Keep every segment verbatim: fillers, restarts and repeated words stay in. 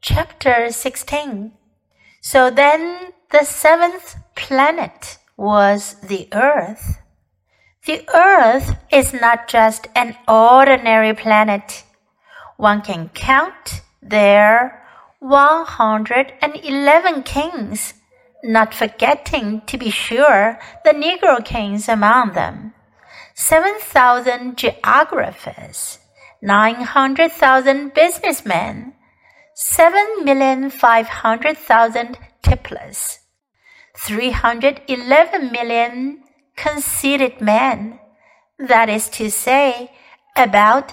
Chapter sixteen. So then the seventh planet was the Earth. The Earth is not just an ordinary planet. One can count there one hundred eleven kings, not forgetting, to be sure, the Negro kings among them, seven thousand geographers, nine hundred thousand businessmen, seven million five hundred thousand tipplers, three hundred eleven million conceited men, that is to say, about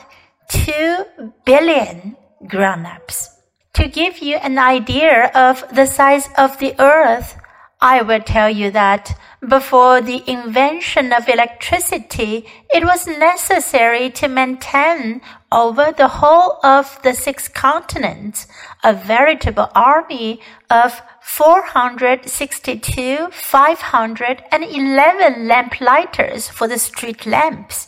two billion grown-ups. To give you an idea of the size of the earth, I will tell you that before the invention of electricity, it was necessary to maintain over the whole of the six continents a veritable army of four hundred sixty-two thousand five hundred eleven lamplighters for the street lamps.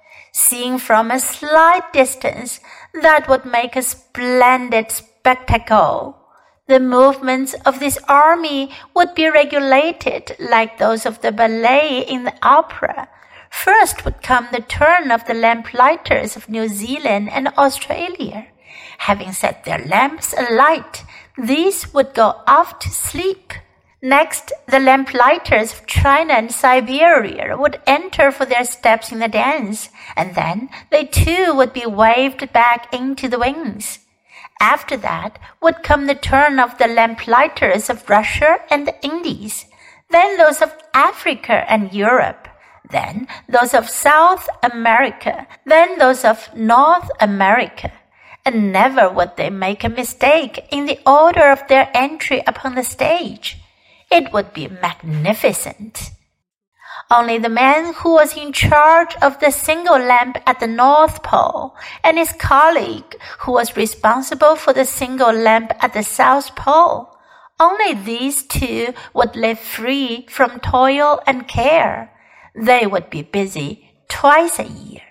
Seen from a slight distance, that would make a splendid spectacle. The movements of this army would be regulated like those of the ballet in the opera. First would come the turn of the lamplighters of New Zealand and Australia. Having set their lamps alight, these would go off to sleep. Next, the lamplighters of China and Siberia would enter for their steps in the dance, and then they too would be waved back into the wings. After that would come the turn of the lamplighters of Russia and the Indies, then those of Africa and Europe, then those of South America, then those of North America. And never would they make a mistake in the order of their entry upon the stage. It would be magnificent. Only the man who was in charge of the single lamp at the North Pole and his colleague who was responsible for the single lamp at the South Pole, only these two would live free from toil and care. They would be busy twice a year.